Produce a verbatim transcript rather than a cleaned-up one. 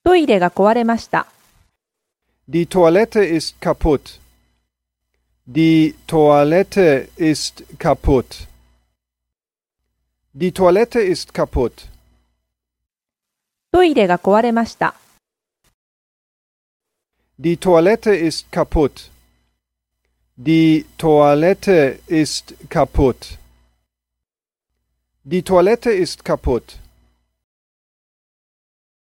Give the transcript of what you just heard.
トイレが壊れました。 Die Toilette ist kaputt. Die Toilette ist kaputt. Die Toilette ist kaputt. トイレが壊れました。 Die Toilette ist kaputt. Die Toilette ist kaputt. Die Toilette ist kaputt.